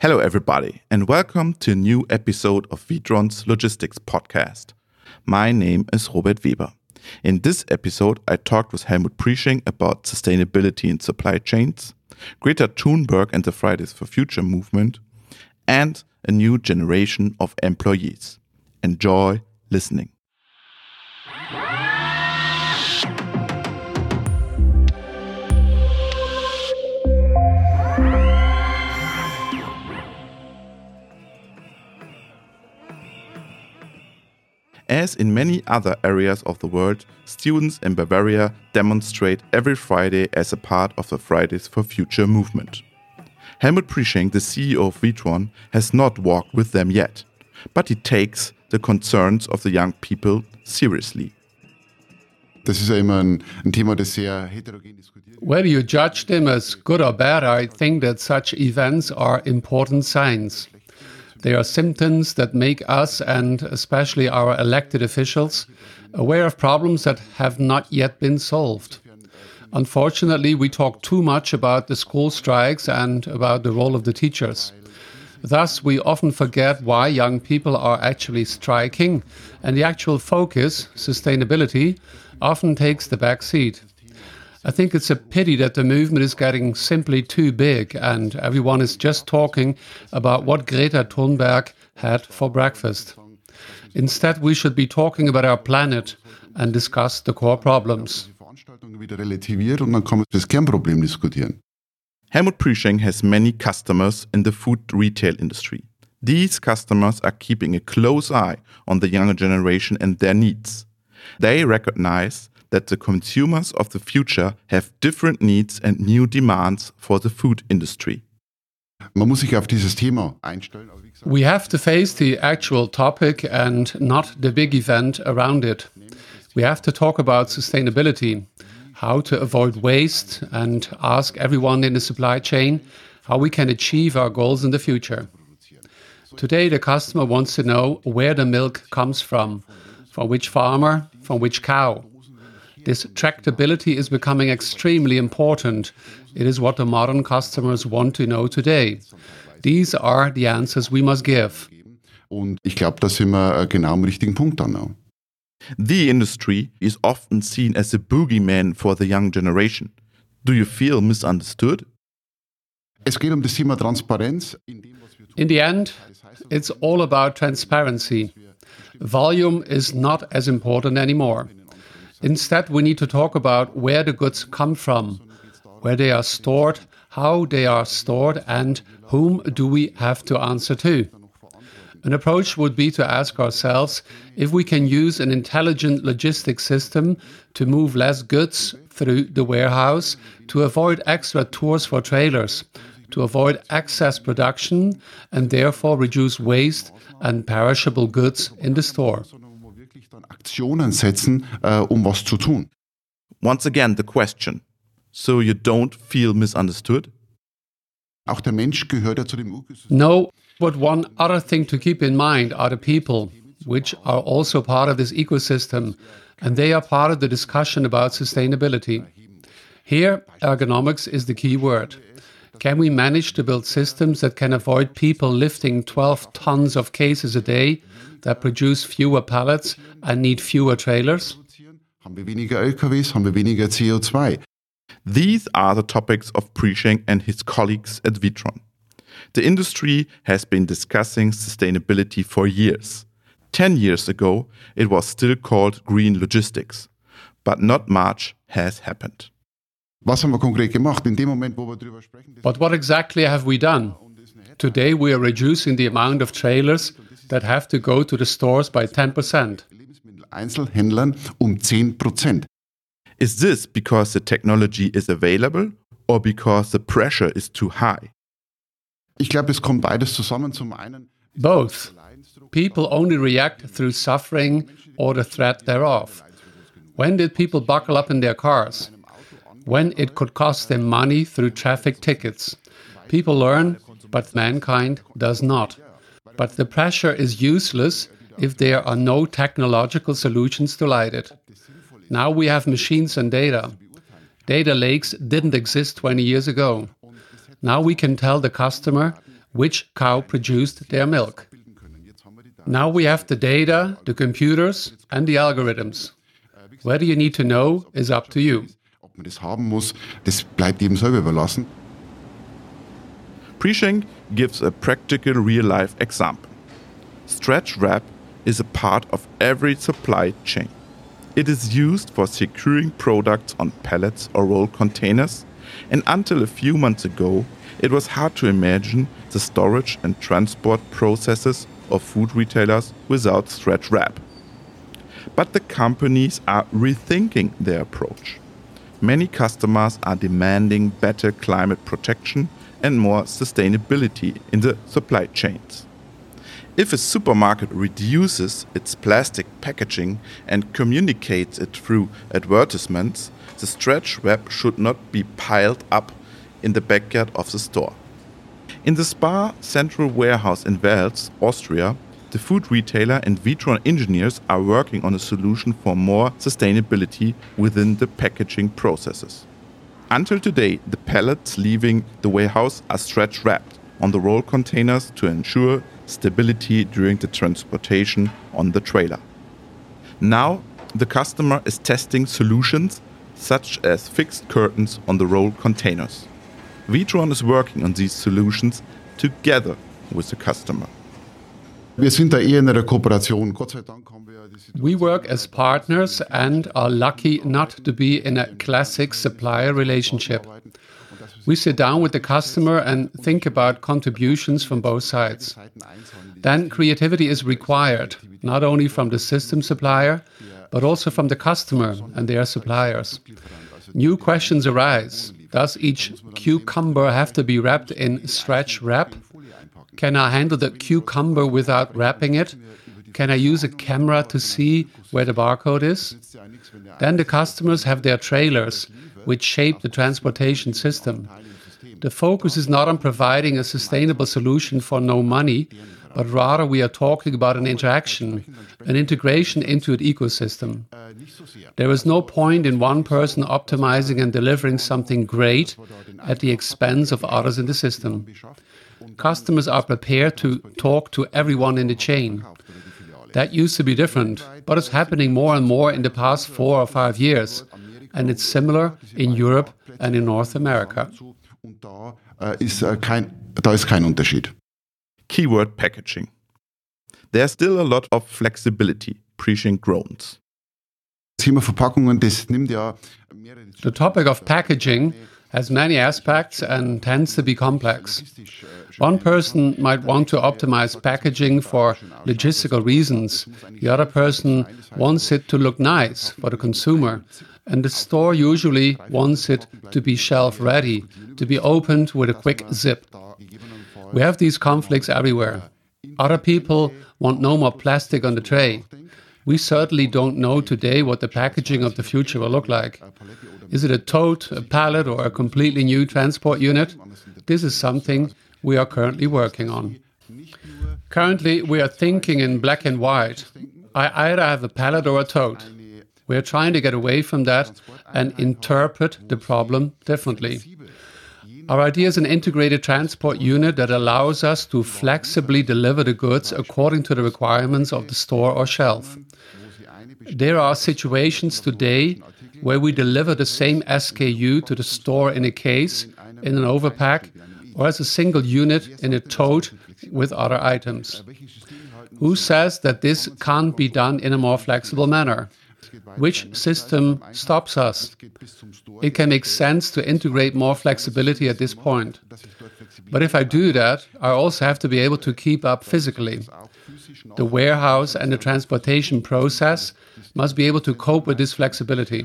Hello, everybody, and welcome to a new episode of Witron's Logistics Podcast. My name is Robert Weber. In this episode, I talked with Helmut Priesching about sustainability in supply chains, Greta Thunberg and the Fridays for Future movement, and a new generation of employees. Enjoy listening. As in many other areas of the world, students in Bavaria demonstrate every Friday as a part of the Fridays for Future movement. Helmut Priesching, the CEO of Witron, has not walked with them yet, but he takes the concerns of the young people seriously. Das ist ja immer ein Thema, das sehr heterogen diskutiert wird. Whether you judge them as good or bad, I think that such events are important signs. They are symptoms that make us, and especially our elected officials, aware of problems that have not yet been solved. Unfortunately, we talk too much about the school strikes and about the role of the teachers. Thus, we often forget why young people are actually striking, and the actual focus, sustainability, often takes the back seat. I think it's a pity that the movement is getting simply too big and everyone is just talking about what Greta Thunberg had for breakfast. Instead, we should be talking about our planet and discuss the core problems. Die Veranstaltung wieder relativiert und dann kann man das Kernproblem diskutieren. Helmut Priesching has many customers in the food retail industry. These customers are keeping a close eye on the younger generation and their needs. They recognize that the consumers of the future have different needs and new demands for the food industry. Man muss sich auf dieses Thema einstellen. We have to face the actual topic and not the big event around it. We have to talk about sustainability, how to avoid waste, and ask everyone in the supply chain how we can achieve our goals in the future. Today, the customer wants to know where the milk comes from which farmer, from which cow. This tractability is becoming extremely important. It is what the modern customers want to know today. These are the answers we must give. Und ich glaube, da sind wir genau am richtigen Punkt dann auch. The industry is often seen as a boogeyman for the young generation. Do you feel misunderstood? Es geht das Thema Transparenz. In the end, it's all about transparency. Volume is not as important anymore. Instead, we need to talk about where the goods come from, where they are stored, how they are stored, and whom do we have to answer to. An approach would be to ask ourselves if we can use an intelligent logistics system to move less goods through the warehouse, to avoid extra tours for trailers, to avoid excess production, and therefore reduce waste and perishable goods in the store. Aktionen setzen, was zu tun. Once again, the question. So you don't feel misunderstood? Auch der Mensch gehört ja zu dem Ökosystem. No, but one other thing to keep in mind are the people, which are also part of this ecosystem, and they are part of the discussion about sustainability. Here, ergonomics is the key word. Can we manage to build systems that can avoid people lifting 12 tons of cases a day, that produce fewer pallets and need fewer trailers? Haben wir weniger LKWs, haben wir weniger CO2. These are the topics of Priesching and his colleagues at Witron. The industry has been discussing sustainability for years. 10 years ago, it was still called green logistics, but not much has happened. Was haben wir konkret gemacht? In dem Moment, wo wir darüber sprechen. But what exactly have we done? Today we are reducing the amount of trailers that have to go to the stores by 10%. Lebensmitteleinzelhändlern 10%. Is this because the technology is available or because the pressure is too high? Ich glaube, es kommt beides zusammen. Zum einen both. People only react through suffering or the threat thereof. When did people buckle up in their cars? When it could cost them money through traffic tickets. People learn, but mankind does not. But the pressure is useless if there are no technological solutions to light it. Now we have machines and data. Data lakes didn't exist 20 years ago. Now we can tell the customer which cow produced their milk. Now we have the data, the computers, and the algorithms. Whether you need to know is up to you. Ob man das haben muss, das bleibt jedem selber überlassen. Prishing gives a practical real-life example. Stretch wrap is a part of every supply chain. It is used for securing products on pallets or roll containers, and until a few months ago, it was hard to imagine the storage and transport processes of food retailers without stretch wrap. But the companies are rethinking their approach. Many customers are demanding better climate protection and more sustainability in the supply chains. If a supermarket reduces its plastic packaging and communicates it through advertisements, the stretch wrap should not be piled up in the backyard of the store. In the Spar central warehouse in Wels, Austria, the food retailer and Witron engineers are working on a solution for more sustainability within the packaging processes. Until today, the pallets leaving the warehouse are stretch wrapped on the roll containers to ensure stability during the transportation on the trailer. Now, the customer is testing solutions such as fixed curtains on the roll containers. Witron is working on these solutions together with the customer. Wir sind da eher in einer Kooperation. Gott sei Dank haben wir diese We work as partners and are lucky not to be in a classic supplier relationship. We sit down with the customer and think about contributions from both sides. Then creativity is required, not only from the system supplier, but also from the customer and their suppliers. New questions arise. Does each cucumber have to be wrapped in stretch wrap? Can I handle the cucumber without wrapping it? Can I use a camera to see where the barcode is? Then the customers have their trailers, which shape the transportation system. The focus is not on providing a sustainable solution for no money, but rather we are talking about an interaction, an integration into an ecosystem. There is no point in one person optimizing and delivering something great at the expense of others in the system. Customers are prepared to talk to everyone in the chain. That used to be different, but it's happening more and more in the past 4 or 5 years. And it's similar in Europe and in North America. Und da ist kein Unterschied. Keyword packaging. There's still a lot of flexibility, Prishing groans. Das Thema Verpackungen, das nimmt ja mehrere. The topic of packaging has many aspects and tends to be complex. One person might want to optimize packaging for logistical reasons. The other person wants it to look nice for the consumer. And the store usually wants it to be shelf-ready, to be opened with a quick zip. We have these conflicts everywhere. Other people want no more plastic on the tray. We certainly don't know today what the packaging of the future will look like. Is it a tote, a pallet, or a completely new transport unit? This is something we are currently working on. Currently, we are thinking in black and white. I either have a pallet or a tote. We are trying to get away from that and interpret the problem differently. Our idea is an integrated transport unit that allows us to flexibly deliver the goods according to the requirements of the store or shelf. There are situations today where we deliver the same SKU to the store in a case, in an overpack, or as a single unit in a tote with other items. Who says that this can't be done in a more flexible manner? Which system stops us? It can make sense to integrate more flexibility at this point. But if I do that, I also have to be able to keep up physically. The warehouse and the transportation process must be able to cope with this flexibility.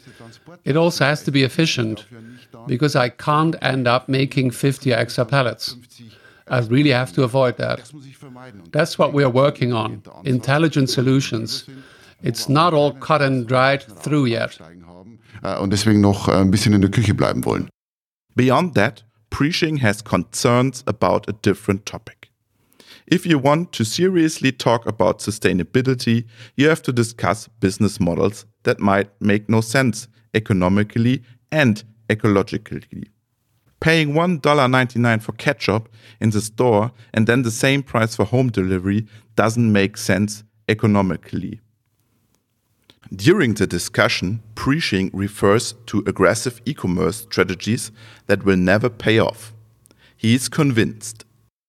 It also has to be efficient, because I can't end up making 50 extra pallets. I really have to avoid that. That's what we are working on, intelligent solutions. It's not all cut and dried through yet. Und deswegen noch ein bisschen in der Küche bleiben wollen. Beyond that, Prishing has concerns about a different topic. If you want to seriously talk about sustainability, you have to discuss business models that might make no sense economically and ecologically. Paying $1.99 for ketchup in the store and then the same price for home delivery doesn't make sense economically. During the discussion, Prishing refers to aggressive e-commerce strategies that will never pay off. He is convinced.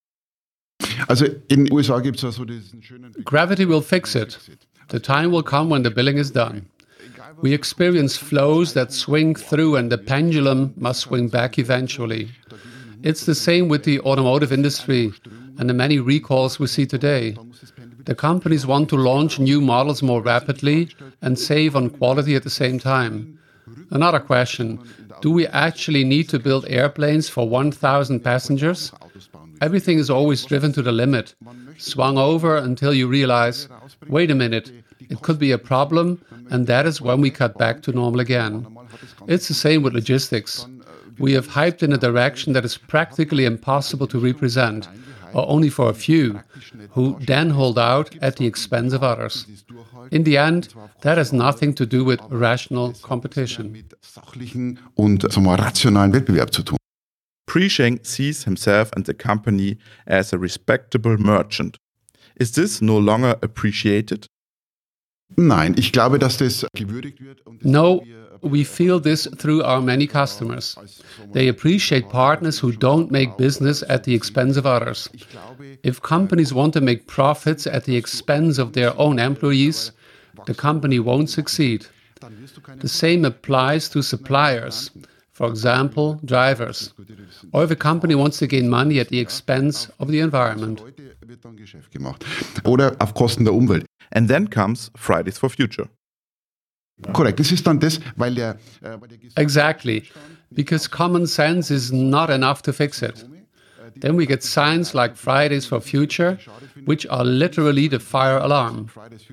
Also in den USA gibt es ja so diesen schönen Gravity will fix it. The time will come when the billing is done. We experience flows that swing through and the pendulum must swing back eventually. It's the same with the automotive industry and the many recalls we see today. The companies want to launch new models more rapidly and save on quality at the same time. Another question, do we actually need to build airplanes for 1,000 passengers? Everything is always driven to the limit, swung over until you realize, wait a minute, it could be a problem, and that is when we cut back to normal again. It's the same with logistics. We have hyped in a direction that is practically impossible to represent, or only for a few, who then hold out at the expense of others. In the end, that has nothing to do with rational competition. mit sachlichen und sagen wir, rationalen Wettbewerb zu tun. Prishing sees himself and the company as a respectable merchant. Is this no longer appreciated? Nein, ich glaube, dass das gewürdigt wird. Und No, we feel this through our many customers. They appreciate partners who don't make business at the expense of others. If companies want to make profits at the expense of their own employees, the company won't succeed. The same applies to suppliers, for example, drivers. Or if a company wants to gain money at the expense of the environment. heute wird dann Geschäft gemacht. Oder auf Kosten der Umwelt. And then comes Fridays for Future. Korrekt, das ist dann das, weil der Exactly, because common sense is not enough to fix it. Then we get signs like Fridays for Future, which are literally the fire alarm.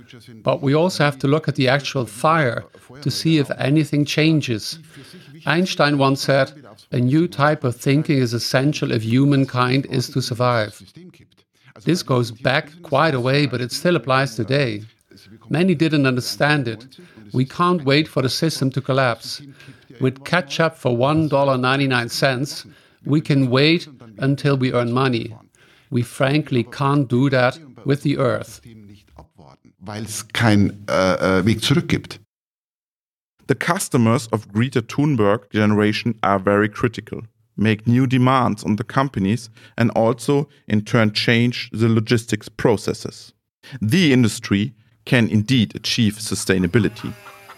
But we also have to look at the actual fire to see if anything changes. Einstein once said, a new type of thinking is essential if humankind is to survive. This goes back quite a way, but it still applies today. Many didn't understand it. We can't wait for the system to collapse. With ketchup for $1.99, we can wait until we earn money. We frankly can't do that with the earth. weil es keinen Weg zurück gibt. The customers of Greta Thunberg generation are very critical, make new demands on the companies, and also in turn change the logistics processes. The industry can indeed achieve sustainability.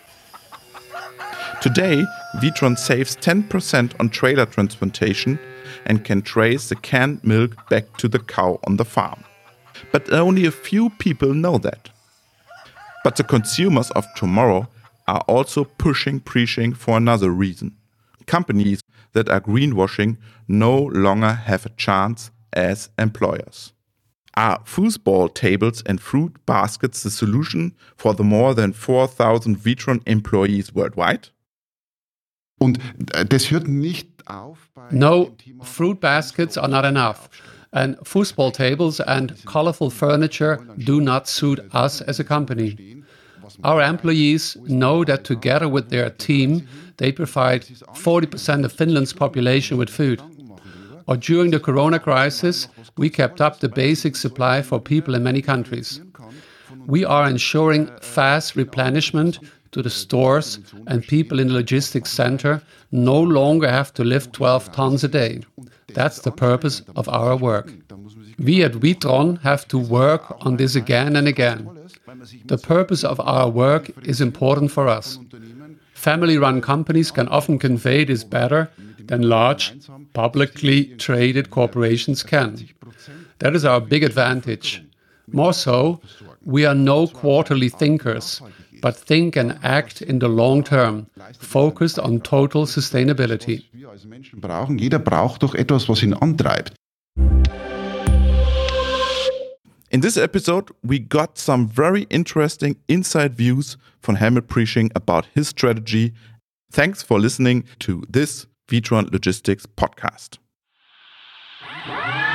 Today, Witron saves 10% on trailer transportation and can trace the canned milk back to the cow on the farm. But only a few people know that. But the consumers of tomorrow are also pushing Prishing for another reason. Companies that are greenwashing no longer have a chance as employers. Are foosball tables and fruit baskets the solution for the more than 4,000 Witron employees worldwide? Und das hört nicht auf bei No, dem Thema fruit baskets are not enough. And foosball tables and colorful furniture do not suit us as a company. Our employees know that together with their team, they provide 40% of Finland's population with food. Or during the corona crisis, we kept up the basic supply for people in many countries. We are ensuring fast replenishment to the stores, and people in the logistics center no longer have to lift 12 tons a day. That's the purpose of our work. We at Witron have to work on this again and again. The purpose of our work is important for us. Family-run companies can often convey this better than large, publicly traded corporations can. That is our big advantage. More so, we are no quarterly thinkers, but think and act in the long term, focused on total sustainability. wir als Menschen brauchen. Jeder braucht doch etwas, was ihn antreibt. In this episode, we got some very interesting inside views from Helmut Prishing about his strategy. Thanks for listening to this Witron Logistics podcast.